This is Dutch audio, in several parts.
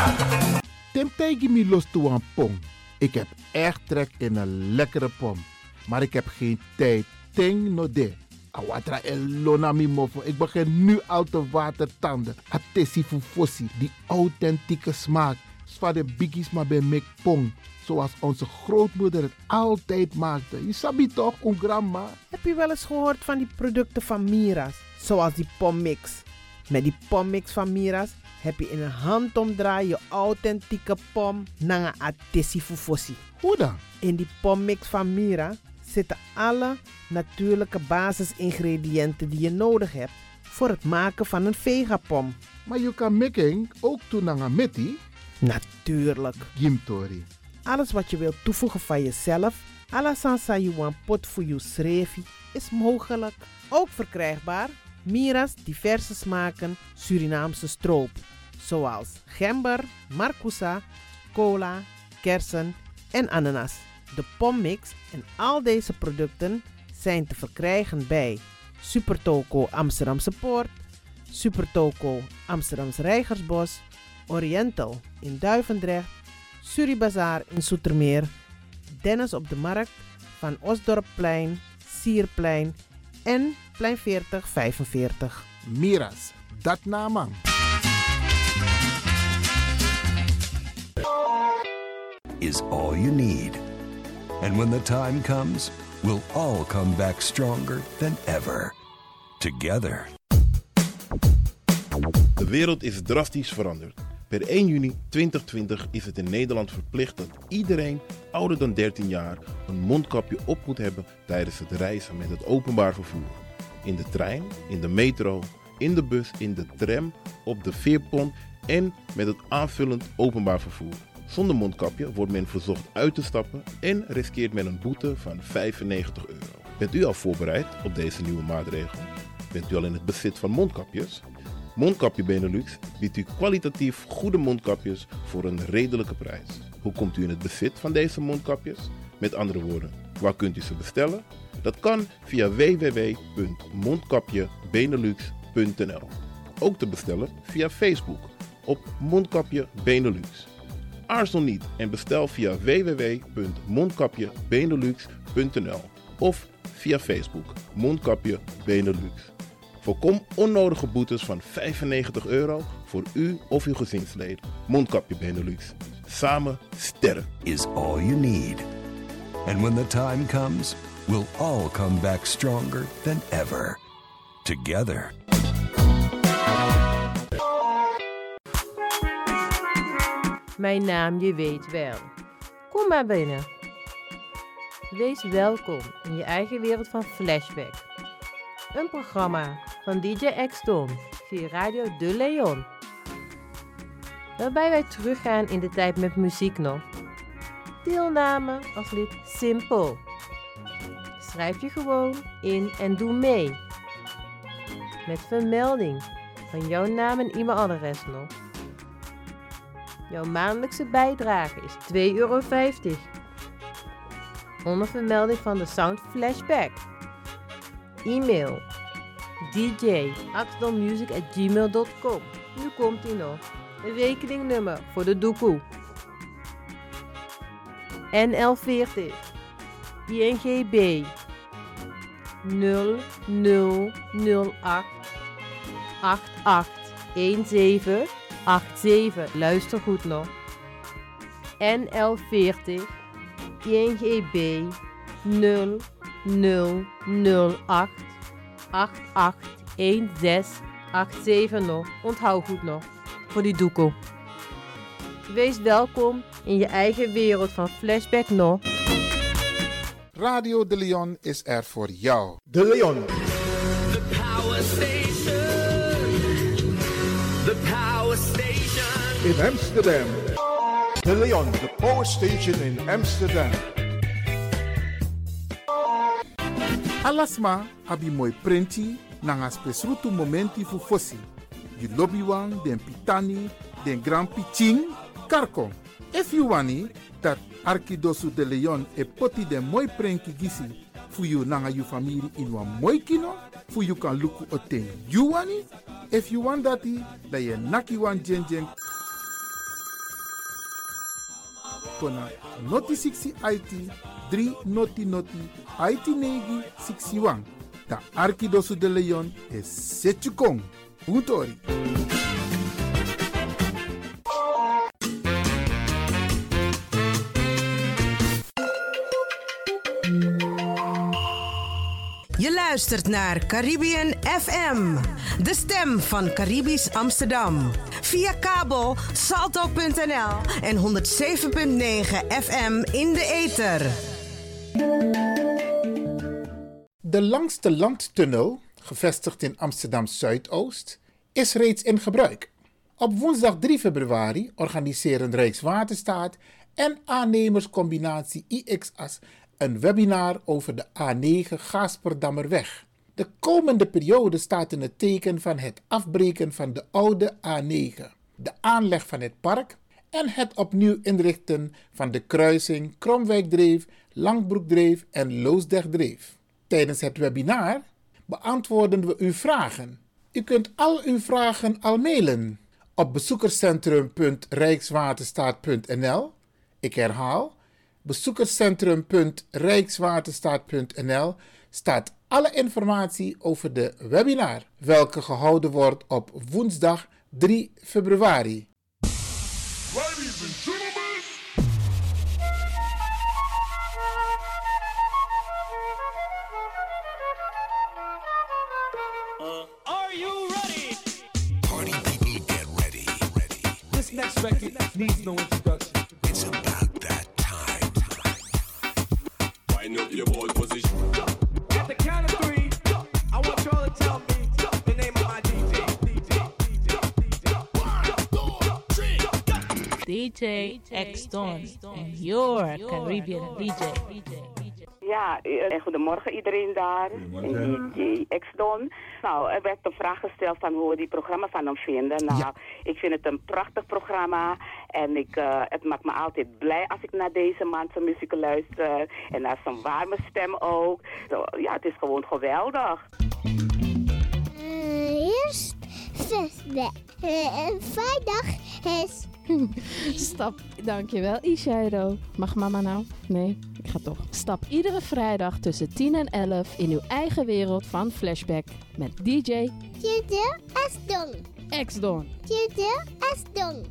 Temtij me los toe aan pom. Ik heb echt trek in een lekkere pom. Maar ik heb geen tijd. Ting no de. Awatra elona mi mofo. Ik begin nu al te watertanden. Atesi fufosi. Die authentieke smaak. Zwa de biggies maar bij mek pom. Zoals onze grootmoeder het altijd maakte. Je sabi toch, een grandma? Heb je wel eens gehoord van die producten van Mira's? Zoals die pommix. Met die pommix van Mira's heb je in een handomdraai je authentieke pom naar een atesi fufosi. Hoe dan? In die pommix van Mira zitten alle natuurlijke basisingrediënten die je nodig hebt voor het maken van een vegapom. Maar je kan making ook doen naar een meti? Natuurlijk. Gimtori. Alles wat je wilt toevoegen van jezelf, alla sansa you want pot voor je schreefie, is mogelijk. Ook verkrijgbaar Mira's diverse smaken Surinaamse stroop. Zoals gember, marcousa, cola, kersen en ananas. De pommix en al deze producten zijn te verkrijgen bij Supertoco Amsterdamse Poort, Supertoco Amsterdamse Reigersbos, Oriental in Duivendrecht, Suribazaar in Zoetermeer, Dennis op de Markt, Van Osdorpplein, Sierplein en Plein 4045. Mira's, dat naman. Is all you need. And when the time comes, we'll all come back stronger than ever. Together. De wereld is drastisch veranderd. Per 1 juni 2020 is het in Nederland verplicht dat iedereen ouder dan 13 jaar een mondkapje op moet hebben tijdens het reizen met het openbaar vervoer. In de trein, in de metro, in de bus, in de tram, op de veerpont en met het aanvullend openbaar vervoer. Zonder mondkapje wordt men verzocht uit te stappen en riskeert men een boete van €95. Bent u al voorbereid op deze nieuwe maatregel? Bent u al in het bezit van mondkapjes? Mondkapje Benelux biedt u kwalitatief goede mondkapjes voor een redelijke prijs. Hoe komt u in het bezit van deze mondkapjes? Met andere woorden, waar kunt u ze bestellen? Dat kan via www.mondkapjebenelux.nl. Ook te bestellen via Facebook op Mondkapje Benelux. Aarzel niet en bestel via www.mondkapjebenelux.nl of via Facebook Mondkapje Benelux. Voorkom onnodige boetes van €95 voor u of uw gezinsleden. Mondkapje Benelux. Samen sterk. Is all you need. And when the time comes, we'll all come back stronger than ever. Together. Mijn naam, je weet wel. Kom maar binnen. Wees welkom in je eigen wereld van Flashback. Een programma van DJ X-Don via Radio De Leon. Waarbij wij teruggaan in de tijd met muziek nog. Deelname als lid simpel. Schrijf je gewoon in en doe mee. Met vermelding van jouw naam en e-mailadres nog. Jouw maandelijkse bijdrage is €2,50. Onder vermelding van de Sound Flashback. E-mail dj@axdonmusic@gmail.com. Nu komt ie nog. Een rekeningnummer voor de doekoe. NL40 INGB 0008 881787. Luister goed nog. NL40 INGB 0008 881687 nog. Onthoud goed nog. Voor die doekoe. Wees welkom in je eigen wereld van Flashback nog. Radio De Leon is er voor jou. De Leon. The Power Station. The Power Station. In Amsterdam. De Leon, the Power Station in Amsterdam. Alasma abi moi prenti nanga spesrutu momenti fu fossi. You lobby wan, den pitani, den grand piching, karko. If you wani, dat Arkidosu de Leon e poti den moi prenki gisi fu you nanga you family in wan moi kino, fu you kan luku oten you wani. If you want dati, da ye naki wan jen jen kona noti 60 IT 3 noti noti IT negi 61. Ta Arkidosu de Leon is Setchukong. Utori. Je luistert naar Caribbean FM, de stem van Caribisch Amsterdam. Via kabel salto.nl en 107.9 FM in de ether. De langste landtunnel, gevestigd in Amsterdam Zuidoost, is reeds in gebruik. Op woensdag 3 februari organiseren Rijkswaterstaat en aannemerscombinatie IXAS een webinar over de A9 Gaasperdammerweg. De komende periode staat in het teken van het afbreken van de oude A9, de aanleg van het park en het opnieuw inrichten van de kruising Kromwijkdreef, Langbroekdreef en Loosdrechtdreef. Tijdens het webinar beantwoorden we uw vragen. U kunt al uw vragen al mailen op bezoekerscentrum.rijkswaterstaat.nl. Ik herhaal, bezoekerscentrum.rijkswaterstaat.nl staat alle informatie over de webinar, welke gehouden wordt op woensdag 3 februari. Ladies and gentlemen. Are you ready? Party people, get ready. This next record needs no introduction. It's about that time. Wind up your ball position. At the count of 3, I want y'all to tell me the name of my DJ. DJ X-Don and your Caribbean DJ. Ja, goedemorgen iedereen daar. DJ X-Don. Nou, er werd een vraag gesteld van hoe we die programma van hem vinden. Nou, ja. Ik vind het een prachtig programma. En het maakt me altijd blij als ik naar deze man zijn muziek luister. En naar zijn warme stem ook. Zo, ja, het is gewoon geweldig. Eerst vrijdag is... Stap, dankjewel Ishairo. Mag mama nou? Nee, ik ga toch. Stap iedere vrijdag tussen 10 en 11 in uw eigen wereld van Flashback met DJ X-Don. X-Don. X-Don.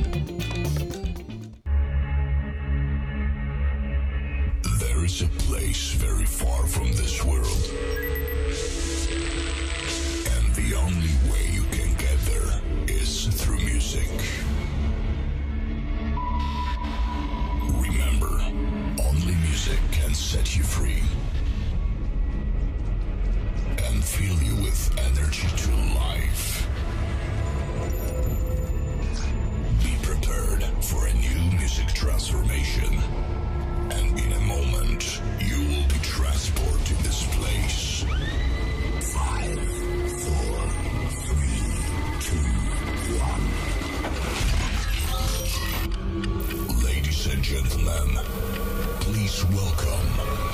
There is a place very far from this world. And the only way you can get there is through music. Remember, only music can set you free and fill you with energy to life. Be prepared for a new music transformation, and in a moment, you will be transported to this place. 5, 4, 3, 2, 1. Ladies and gentlemen, please welcome.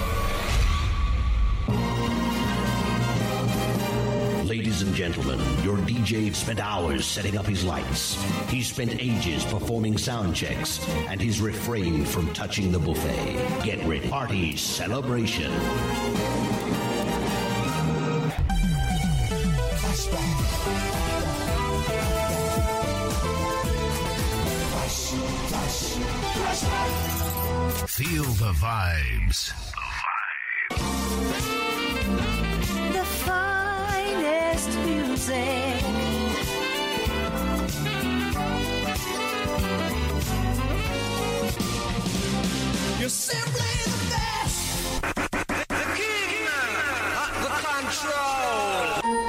Ladies and gentlemen, your DJ spent hours setting up his lights. He spent ages performing sound checks, and he's refrained from touching the buffet. Get ready. Party celebration. Feel the vibes. The finest music. You're simply the best. The king, the control.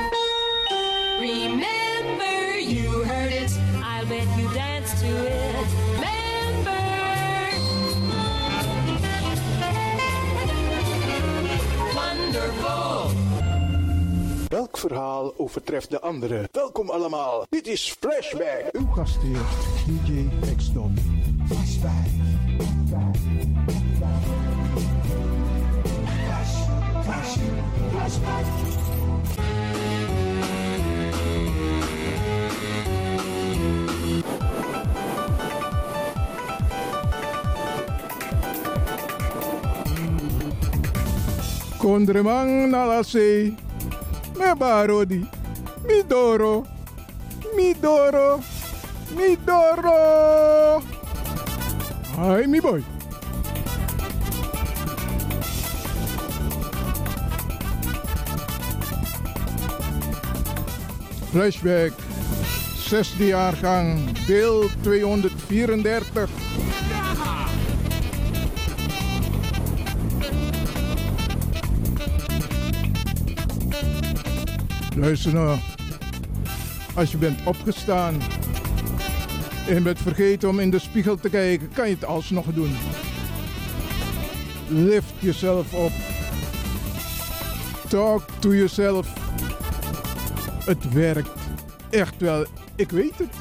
Remember, you heard it. I'll bet you dance to it. Remember. Wonderful. Welk verhaal overtreft de andere? Welkom allemaal. Dit is Flashback. Uw gastheer, DJ X-Don. Flashback. Flashback. Kondremang nalase. Me barodi. Midoro. Midoro. Midoro. Hi, mi boy. Flashback. 6e jaargang. Deel 234. Luister nou. Als je bent opgestaan en je bent vergeten om in de spiegel te kijken, kan je het alsnog doen. Lift jezelf op. Talk to yourself. Het werkt. Echt wel. Ik weet het.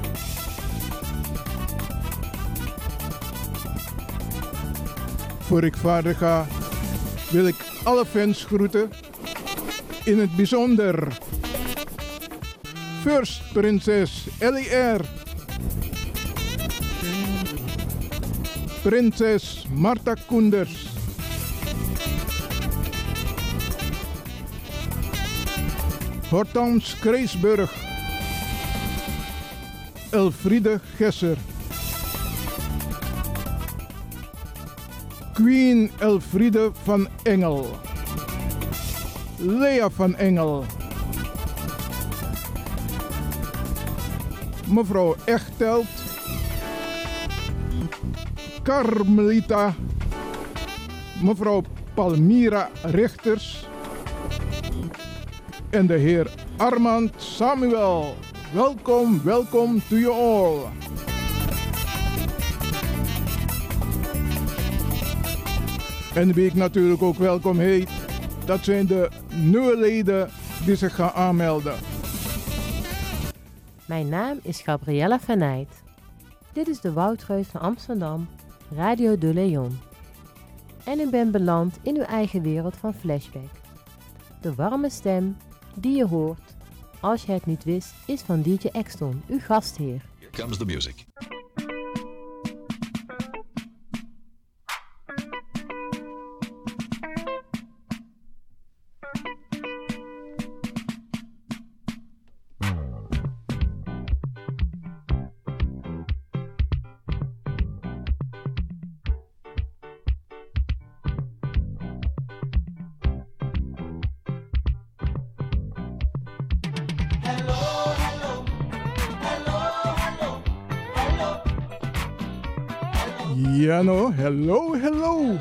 Voor ik verder ga, wil ik alle fans groeten. In het bijzonder First Prinses LER, Prinses Marta Koenders, Hortense Kreesburg, Elfriede Gesser, Queen Elfriede van Engel, Lea van Engel, mevrouw Echtelt, Carmelita, mevrouw Palmira Richters en de heer Armand Samuel. Welkom, welkom to you all. En wie ik natuurlijk ook welkom heet, dat zijn de nieuwe leden die zich gaan aanmelden. Mijn naam is Gabriella Venijt. Dit is de Woudreus van Amsterdam, Radio de Leon. En ik ben beland in uw eigen wereld van Flashback. De warme stem die je hoort, als je het niet wist, is van DJ Exton, uw gastheer. Here comes the music. Ja no, hello, hello.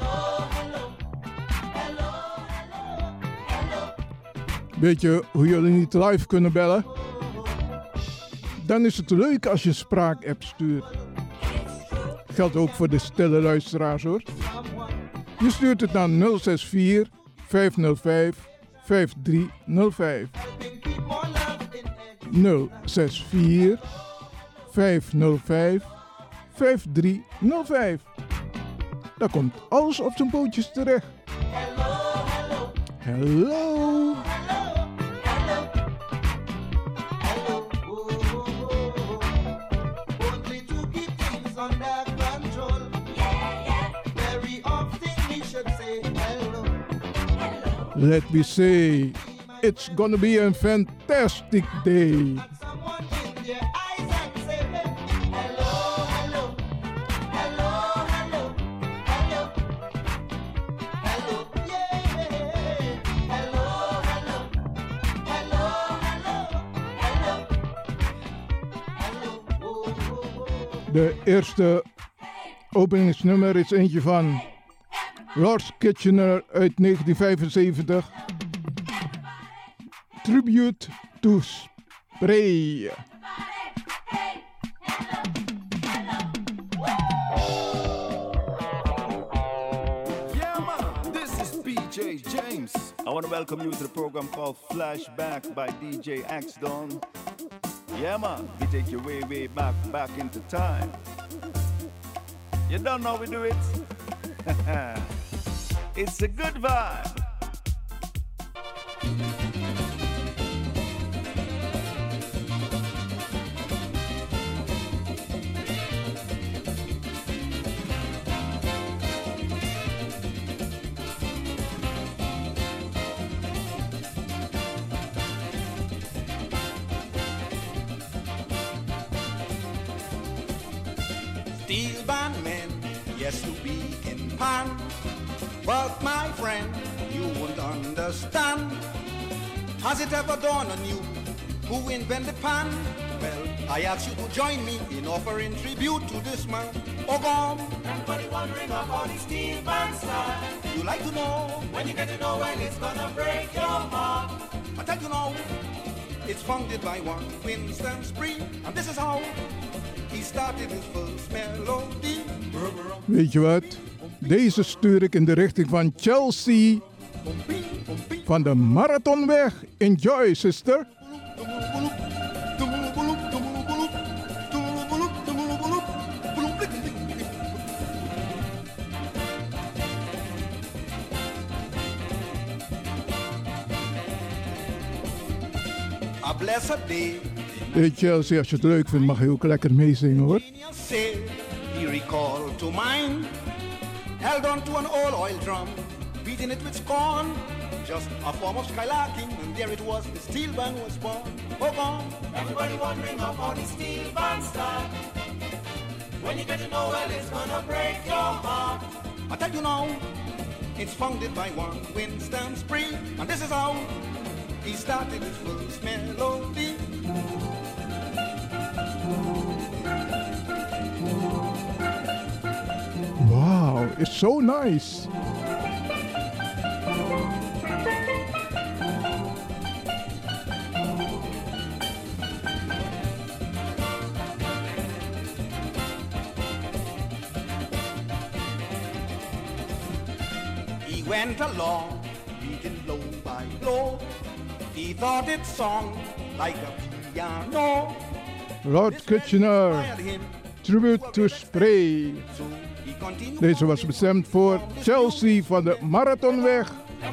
Weet je hoe jullie niet live kunnen bellen? Dan is het leuk als je een spraakapp stuurt. Geldt ook voor de stille luisteraars hoor. Je stuurt het naar 064 505 5305. 064 505 5305. Daar komt alles op zijn pootjes terecht. Hello. Let me say, it's gonna be a fantastic day. De eerste openingsnummer is eentje van Lars Kitchener uit 1975. Tribute to Spray. James. I want to welcome you to the program called Flashback by DJ Axdon. Yeah man, we take you way back into time. You don't know we do it? It's a good vibe. steel band man, yes, to be in pan. But my friend, you won't understand. Has it ever dawned on you who invented pan? Well, I ask you to join me in offering tribute to this man. Ogom. Everybody wondering about the steel band style. You like to know? When you get to know, well, it's gonna break your heart. I tell you now, it's founded by one Winston Spree, and this is how he started his first melody. Weet je wat? Deze stuur ik in de richting van Chelsea van de Marathonweg. Enjoy, sister. A blessed day. Hey Chelsea, als je het leuk vindt mag je ook lekker meezingen hoor. Say, he recalled to mind, held on to an old oil drum, beating it with scorn, just a form of skylarking, and there it was, the steel band was born. Oh, gone. Everybody wondering about the steel band style. When you get to know, well, it's gonna break your heart. I tell you now, it's founded by one Winston Spree, and this is how he started his first melody. Wow, it's so nice. He went along, beating blow by blow. He thought it sung like a piano. Lord Kitchener, tribute to Spray. Deze was bestemd voor Chelsea van de Marathonweg.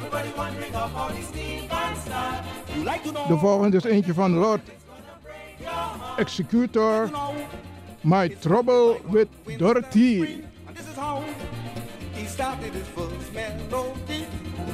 De volgende is eentje van Lord Executor, My Trouble with Dorothy. And this is how he started his first melody.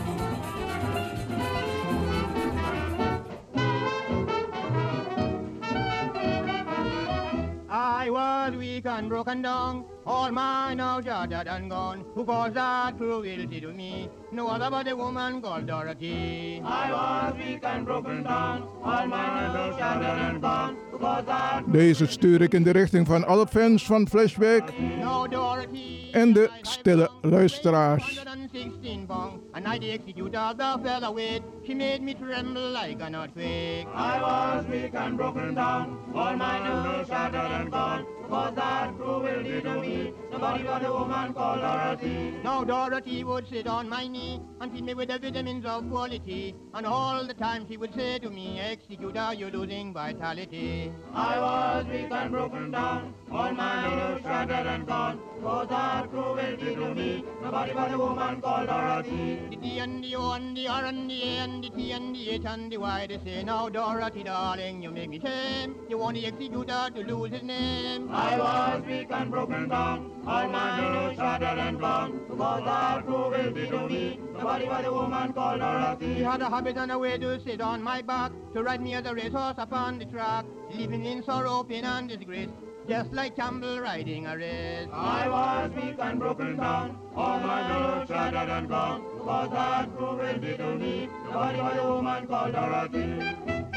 I was weak and broken down, all mine now shattered and gone. Who caused that cruelty to me? No other but a woman called Dorothy. I was weak and broken down, all mine now shattered and gone. Who caused that? Deze stuur ik in de richting van alle fans van Flashback No Dorothy. en de stille luisteraars. 116 pounds, and I the executor the featherweight. She made me tremble like an earthquake. I was weak and broken down, all mine now shattered and gone. Was that cruelty to me? Nobody but a woman called Dorothy. Now Dorothy would sit on my knee and feed me with the vitamins of quality. And all the time she would say to me, Executor, you're losing vitality. I was weak and broken down, all mine now shattered and gone. Was that cruelty to me? Nobody but a woman called Dorothy. The D and the O and the R and the A and the T and the H and the Y, they say, now Dorothy, darling, you make me shame. You want the executor to lose his name. I was weak and broken down, all my now shattered and gone. Was that cruelty to me? Nobody but a woman called Dorothy. He had a habit and a way to sit on my back, to ride me as a racehorse upon the track, living in sorrow, pain and disgrace, just like Campbell riding a race. I was weak and broken down, all my now shattered and gone. Was that cruelty to me? Nobody but a woman called Dorothy.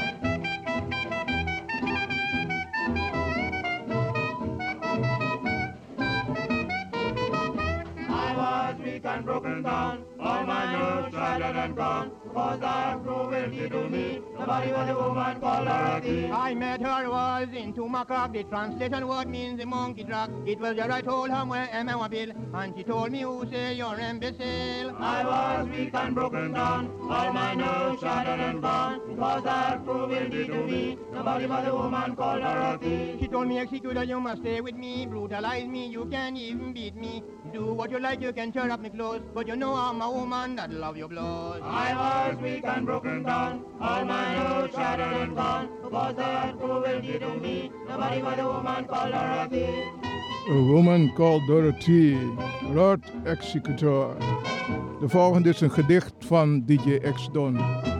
Weak and broken down, all my nerves shattered and gone. Was that cruelty to me? Nobody but a woman called Dorothy. I met her, was in Tumacock. The translation word means the monkey track. It was there I told her where am I bill, and she told me who say you're imbecile. I was weak and broken down, all my nerves shattered and gone. Was that cruelty to me? Nobody but a woman called Dorothy. She told me, Executor, you must stay with me, brutalize me, you can't even beat me. Do what you like, you can tear up me clothes, but you know I'm a woman that love your blows. I was weak and broken down, all my nerves shattered and gone. Was that cruelty to me? Nobody but a woman called Dorothy. A Woman Called Dorothy, Lord Executor. De volgende is een gedicht van DJ X-Don.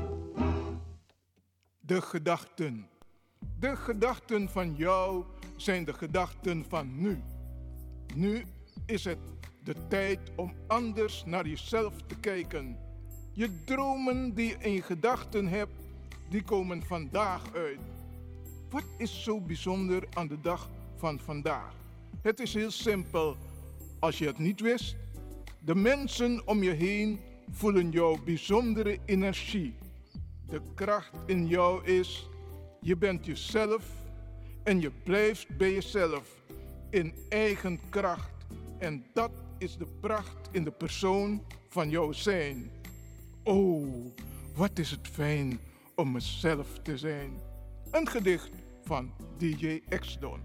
De gedachten. De gedachten van jou zijn de gedachten van nu. Nu is het de tijd om anders naar jezelf te kijken. Je dromen die je in gedachten hebt, die komen vandaag uit. Wat is zo bijzonder aan de dag van vandaag? Het is heel simpel. Als je het niet wist, de mensen om je heen voelen jouw bijzondere energie. De kracht in jou is, je bent jezelf en je blijft bij jezelf in eigen kracht. En dat is de pracht in de persoon van jouw zijn. Oh, wat is het fijn om mezelf te zijn. Een gedicht van DJ X-Don.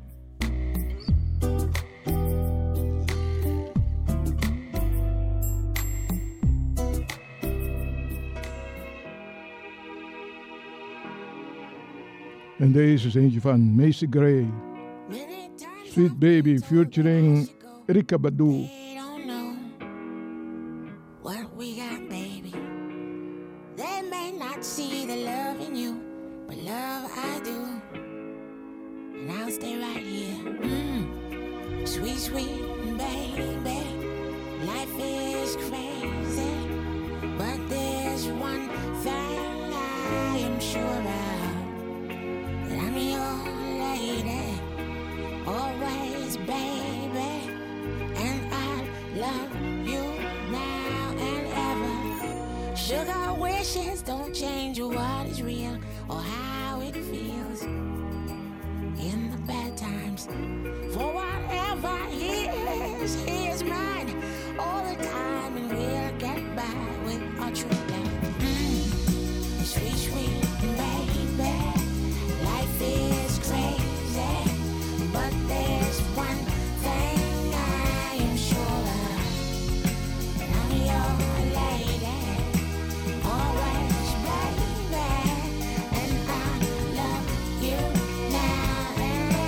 En deze is eentje van Macy Gray. Sweet Baby featuring Erykah Badu. What we got, baby. They may not see the love in you, but love I do. And I'll stay right here. Sweet, sweet baby. Life is crazy, but there's one thing I am sure about. That I'm your lady, always, baby. And I love you now and ever. Sugar wishes don't change what is real or how it feels in the bad times. For whatever he is mine all the time, and we'll get by with our true love. Sweet, sweet baby, life is crazy, but there's one thing I am sure of. I'm your lady, always, baby, and I love you now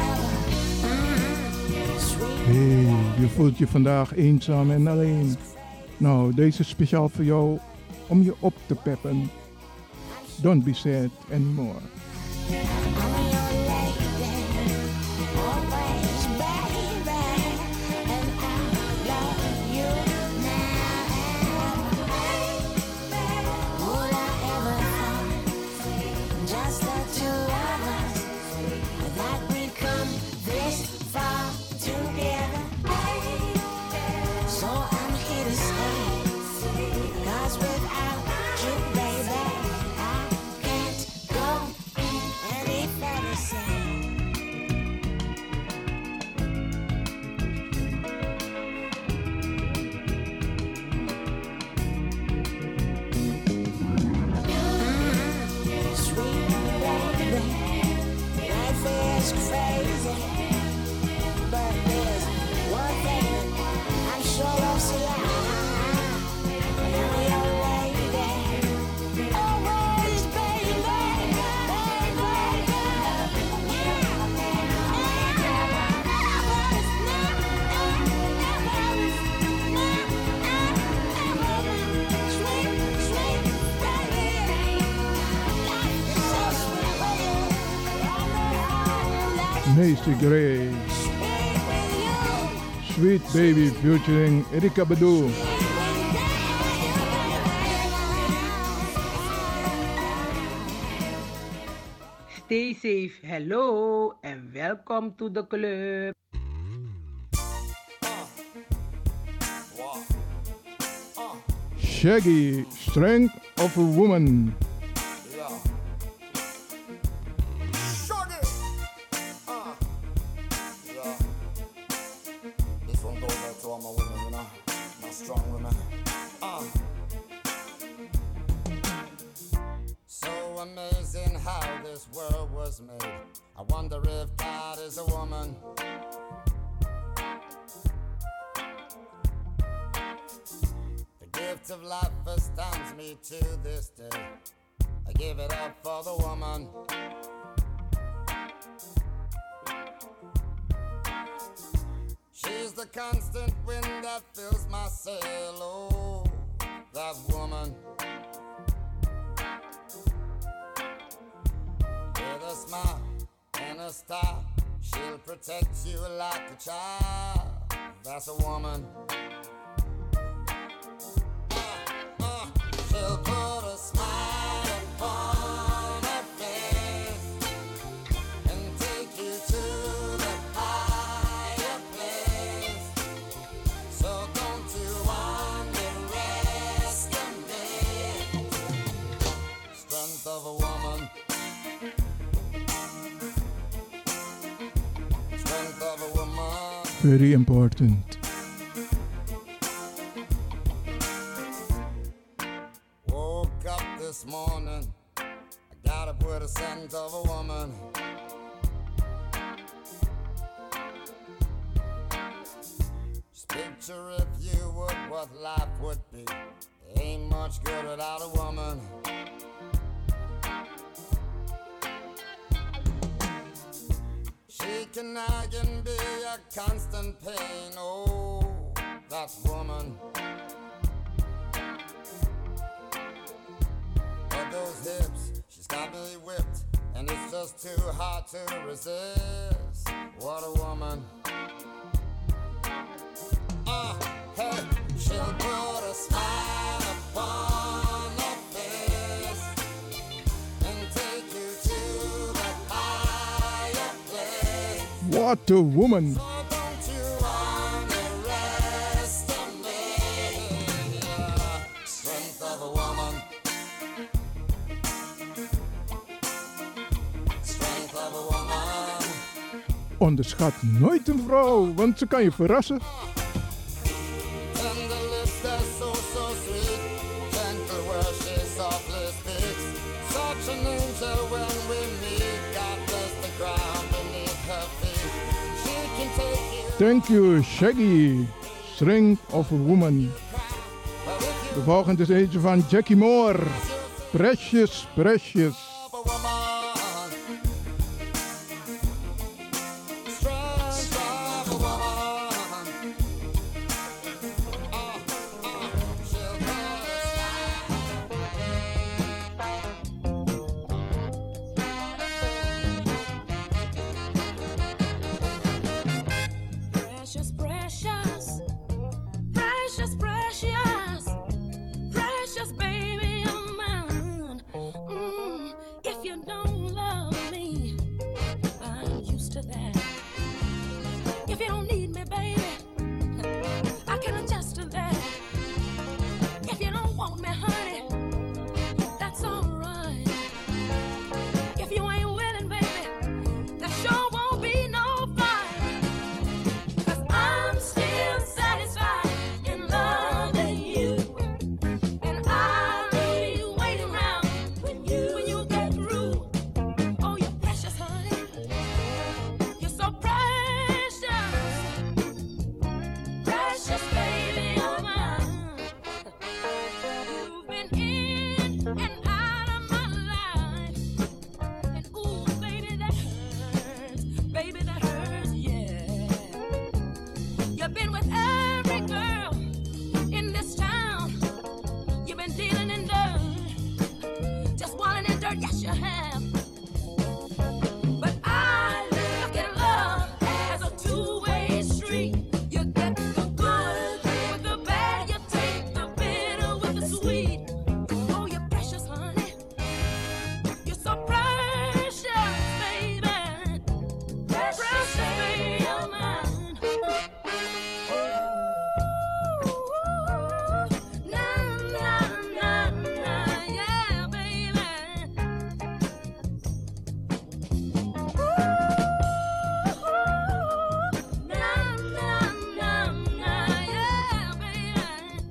and ever. Sweet. Hey, je voelt je vandaag eenzaam en alleen. Nou, deze is speciaal voor jou om je op te peppen. Don't be sad anymore. Macy Gray. Sweet Baby featuring Erykah Badu. Stay safe, hello and welcome to the club. Shaggy, Strength of a Woman. I wonder if God is a woman. The gift of life astounds me to this day. I give it up for the woman. She's the constant wind that fills my sail. Oh, that woman. With a smile and a star, she'll protect you like a child. That's a woman. She'll put a smile upon her face and take you to the higher place. So don't you underestimate strength of a woman. Strength of a woman. Very important. Woke up this morning, I got up with a scent of a woman. Just picture if you would what life would be. There ain't much good without a woman. She can be a constant pain. Oh, that woman. But those hips, she's got me whipped, and it's just too hard to resist. What a woman. Hey, she'll put a smile upon her face and take you to the higher place. What a woman. So don't you underestimate the strength of a woman. Strength of a woman. Onderschat nooit een vrouw, want ze kan je verrassen. Tender lips, they're so, so sweet. Gentle where she softly speaks. Such an angel when we meet. God bless the ground beneath her feet. She can take you. Thank you, Shaggy. Strength of a woman. De volgende is eentje van Jackie Moore. Precious, precious. Precious, precious, precious, precious, precious baby of mine. If you don't love me, I'm used to that. If you don't need me, baby, I can adjust to that. If you don't want me, honey, that's alright. If you ain't willing, baby, there sure won't be no fight. I'm still satisfied in loving you, and I'll be waiting around when you get through. Oh, you're precious, honey. You're so precious, precious baby of mine. You've been in and out of my life, and ooh, baby, that hurts, baby, that hurts, yeah. You've been with every girl in this town. You've been dealing in dirt, just walling in dirt, yes you have. But I look at love as a two-way street. You get the good with the bad, you take the bitter with the sweet. Oh, you're precious, honey. You're so precious, baby. Precious baby of mine. Na na na na, yeah, baby. Na na na na, yeah, baby.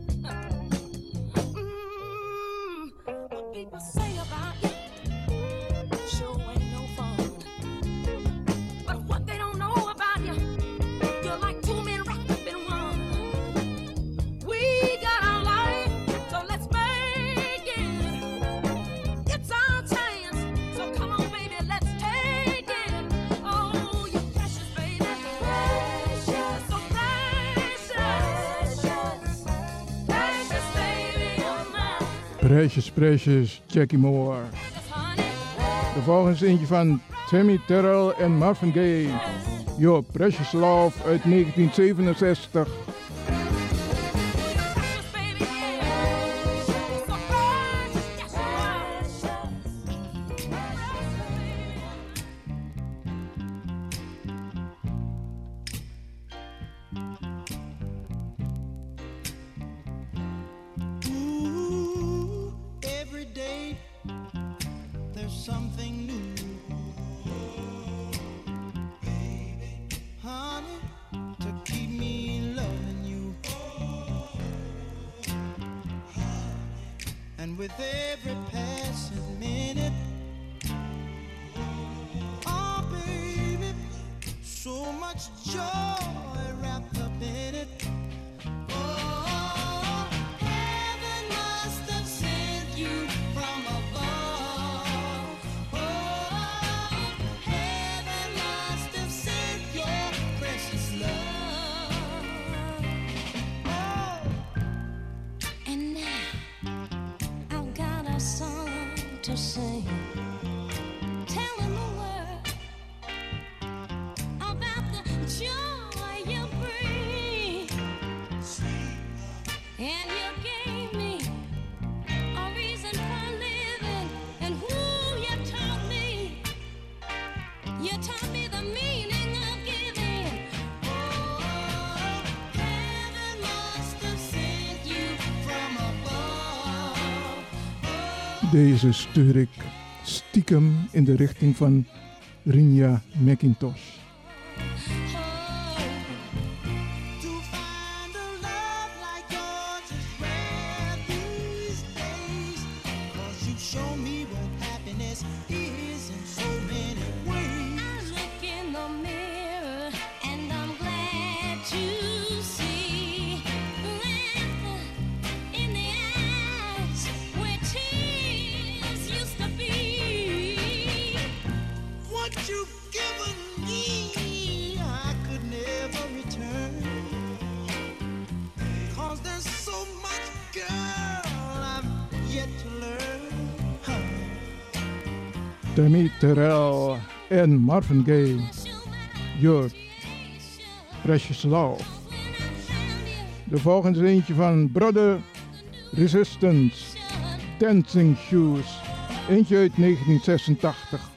What people say about you sure ain't no fun. But what they don't know about you, you're like two men wrapped up in one. We got our life, so let's make it. It's our chance, so come on, baby, let's take it. Oh, you precious, baby. Precious, so precious. Precious, baby of mine. Precious, precious, Jackie Moore. De volgende is eentje van Tammy Terrell en Marvin Gaye. Yo, Precious Love uit 1967. Ooh, every day there's something new. Baby, honey, to keep me loving you. And with every passing minute, oh baby, so much joy wrapped up in it. Oh, heaven must have sent you from above. Oh, heaven must have sent your precious love. Oh, And now I've got a song to sing, telling the world about the joy you bring. And you gave me a reason for living, and who you taught me. You taught me the meaning of giving. Oh, heaven must have sent you from above. Deze stuur ik stiekem in de richting van Rinja McIntosh. to find a love like yours is rare these days. 'Cause you show me what happiness is in so many ways. I look in the mirror and I'm glad to see laughter in the eyes where tears used to be. What you've given me, I could never return. 'Cause there's so much, girl, I've yet to learn. Tammy Terrell en Marvin Gaye. Your Precious Love. De volgende is eentje van Brother Resistance. Dancing Shoes. Eentje uit 1986.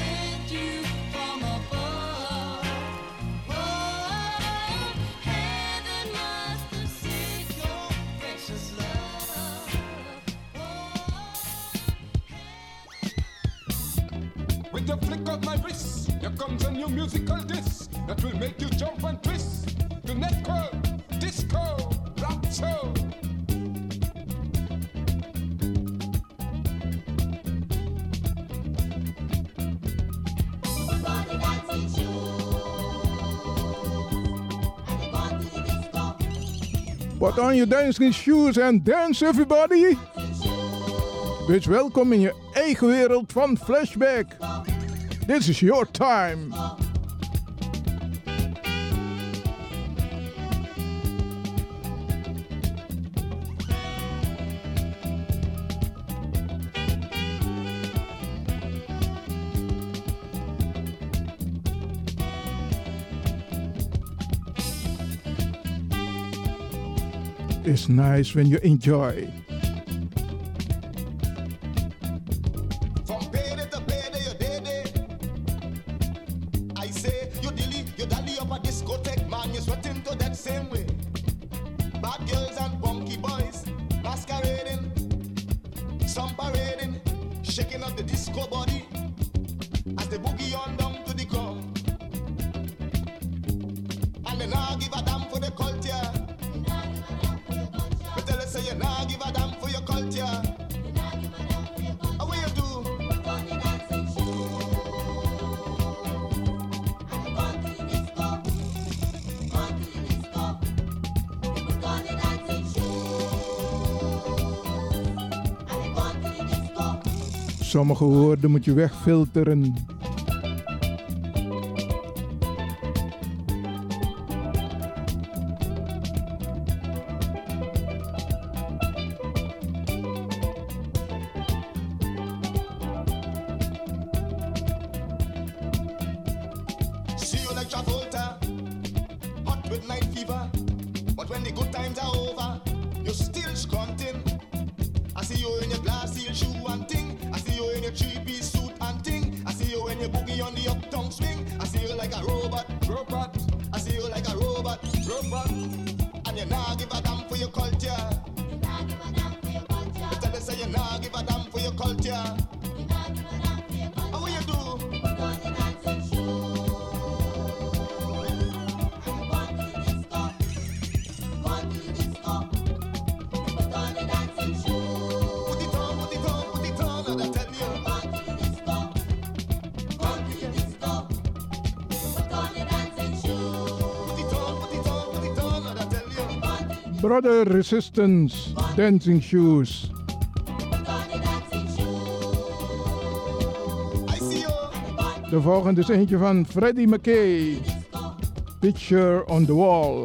With the flick of my wrist, here comes a new musical disc that will make you jump and twist. To netco, disco, rock show. Put on your dancing shoes and dance everybody. Wees welkom in je eigen wereld van Flashback. This is your time. It's nice when you enjoy. From payday to payday, you day. I say, you dilly, you dally up a discotheque, man, you sweating to that same way. Bad girls and funky boys, masquerading, some parading, shaking up the disco body as they boogie on down to the ground. And they now give a damn for the culture. But tell us, say you now give a damn for your culture. How will you do? Sommige woorden moet je wegfilteren. See you like Travolta with night fever. But when the good times are over, you're still scrunting. I see you in your glass heel shoe and ting. I see you in your three-piece suit and ting. I see you in your boogie on the uptown swing. I see you like a robot. I see you like a robot. And you nah give a damn for your culture. You nah give a damn for your culture. You tell us say you nah give a damn for your culture. You nah give a damn for your culture. How will you do? Put on the dancing shoes. And go to the disco. Go to the disco. Put on the dancing shoes. Put it on, put it on, put it on. And I tell you. Go to the disco. Go to the disco. Put on the dancing shoes. Put it on, put it on, put it on. And I tell you. Brother Resistance, Dancing Shoes. De volgende is eentje van Freddie McKay, Picture on the Wall.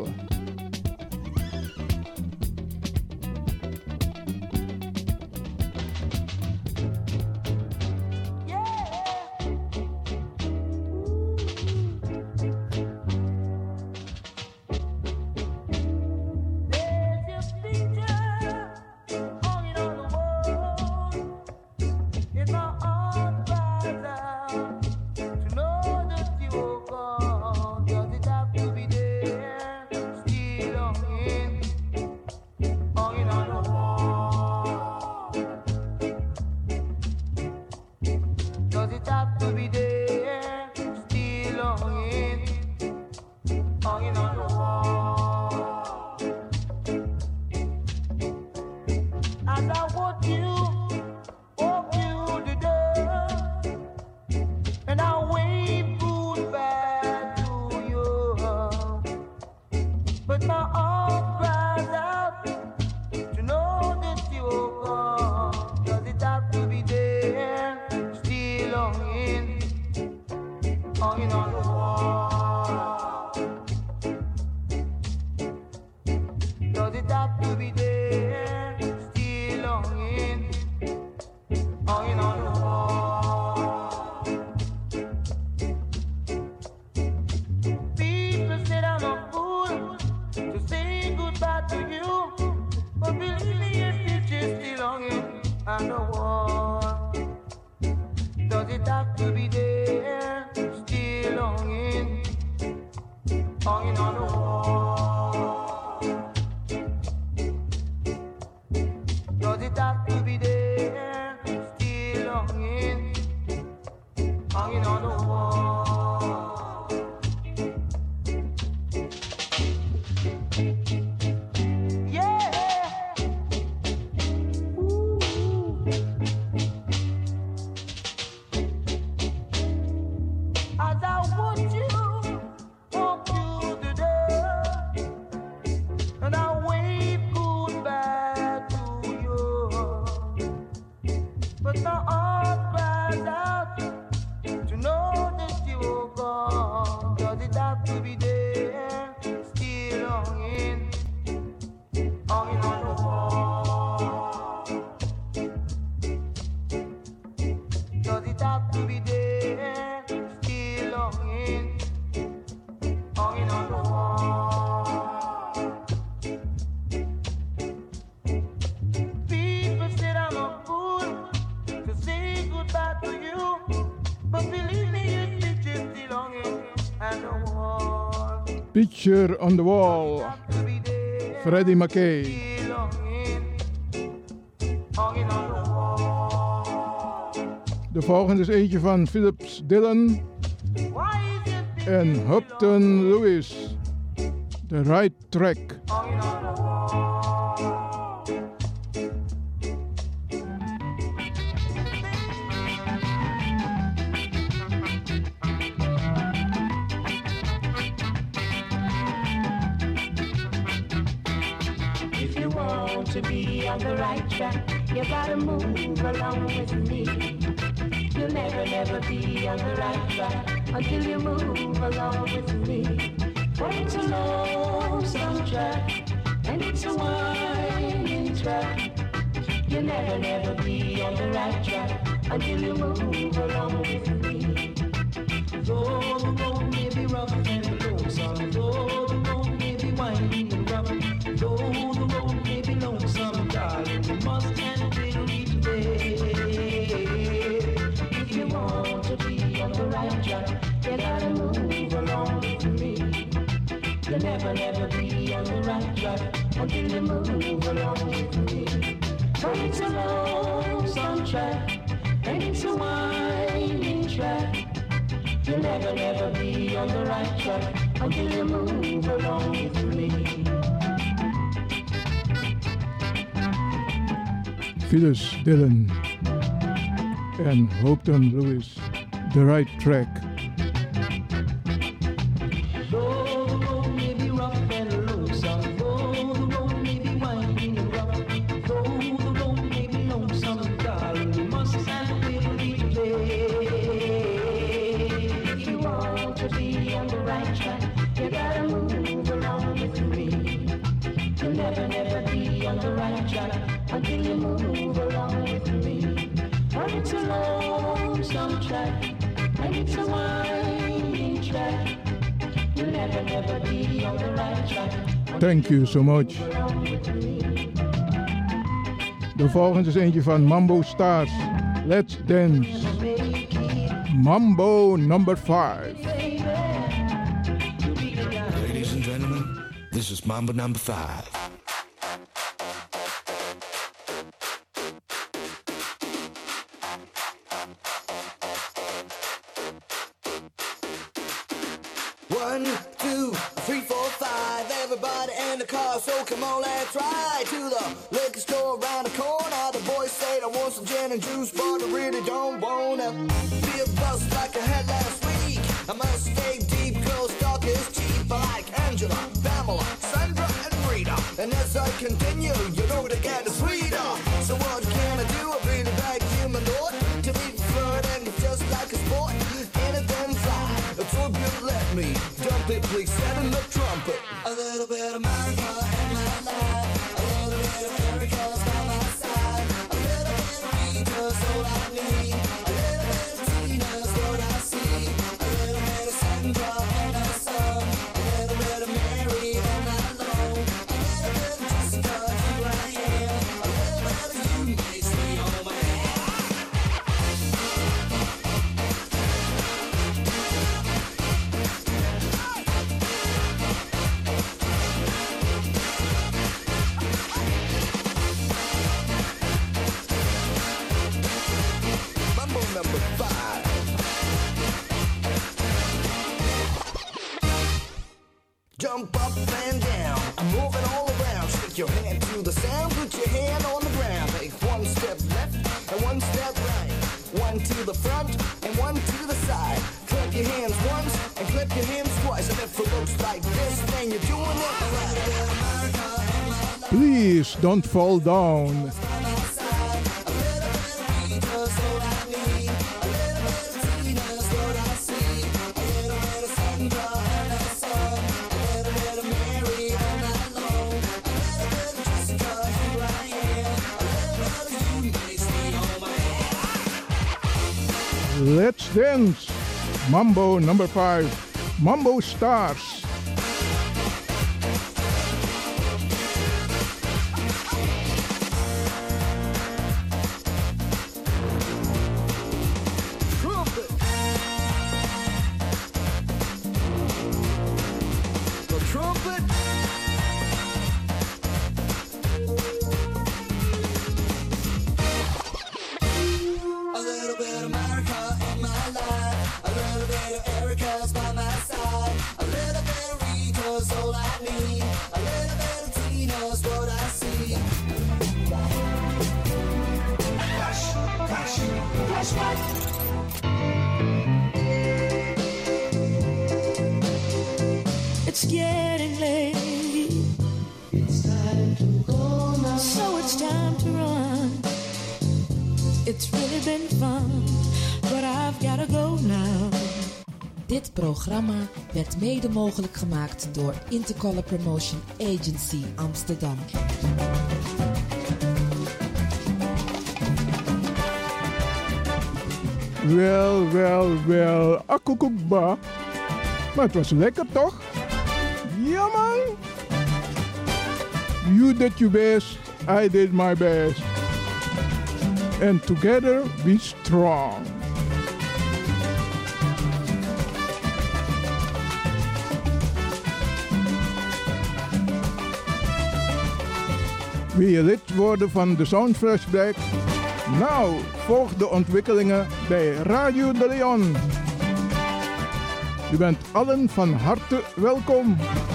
Picture on the Wall, Freddie McKay. De volgende is eentje van Phillips Dillon en Hupton Lewis, The Right Track. To be on the right track, you gotta move along with me. You'll never be on the right track until you move along with me. For it's a lonesome track and it's a winding track. You'll never be on the right track until you move along with me. Though the road may be rough and lonesome, though the road may You'll never, never be on the right track until you move along with me. But it's a lonesome track, and it's a winding track. You'll never, never be on the right track until you move along with me. Phyllis Dillon en Houghton Lewis, The Right Track. Though the road may be rough and lonesome, though the road may be winding and rough, though the road may be lonesome, darling, you must and will be there. If you want to be on the right track, you gotta move along with me. You'll never, never be on the right track until you move along with me. But it's a lonesome track, and it's a winding track. You'll never, never be on the right track. Thank you so much. De volgende is eentje van Mambo Stars. Let's Dance. Mambo number 5. Ladies and gentlemen, this is Mambo number 5. One, two, three, four, five. Everybody in the car, so come on, let's ride to the liquor store around the corner. The boys say I want some gin and juice, but I really don't wanna be a bust like I had last week. I must stay deep, cause talk is cheap. I like Angela, Pamela, Sandra, and Rita. And as I continue, you know they get sweeter. So what can I do? I really like human lord to be flirting just like a sport. Anything fly, a tribute, let me dump it, please set in the trumpet. A little bit of America in my life, a little bit of America's by my side, a little bit of Rita's all I need, a little bit of Tina's what I see, a little bit of Sandra and her son, a little bit of Mary and I know, a little bit of Jessica, here I am, a little bit of you makes me oh man. Mambo number 5. Jump up and down, I'm moving all around. Shake your hand to the sound, put your hand on the ground. Take one step left and one step right. One to the front and one to the side. Clap your hands once and clap your hands twice. And if it looks like this, then you're doing it right. Please don't fall down. Let's Dance. Mambo number 5. Mambo Stars. Trumpet. The trumpet. A little bit of America in my life, a little bit of Erica's by my side, a little bit of Rita's all I need, a little bit of Tina's what I see. Flashback. It's getting late. It's time to go now. So it's time to run. It's really been fun, but I've gotta go now. Dit programma werd mede mogelijk gemaakt door Intercolor Promotion Agency Amsterdam. Wel, akkoekba. Maar het was lekker toch? Ja man! You did your best, I did my best. And together we strong. Wil je lid worden van de Sound Flashback? Nou, volg de ontwikkelingen bij Radio de Leon. U bent allen van harte welkom.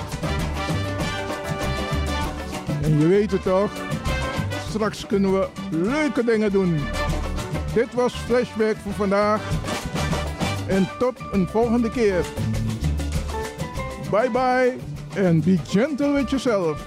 En je weet het toch, straks kunnen we leuke dingen doen. Dit was Flashback voor vandaag. En tot een volgende keer. Bye bye and be gentle with yourself.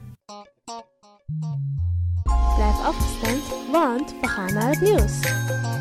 Blijf afgestemd, want we gaan naar het nieuws.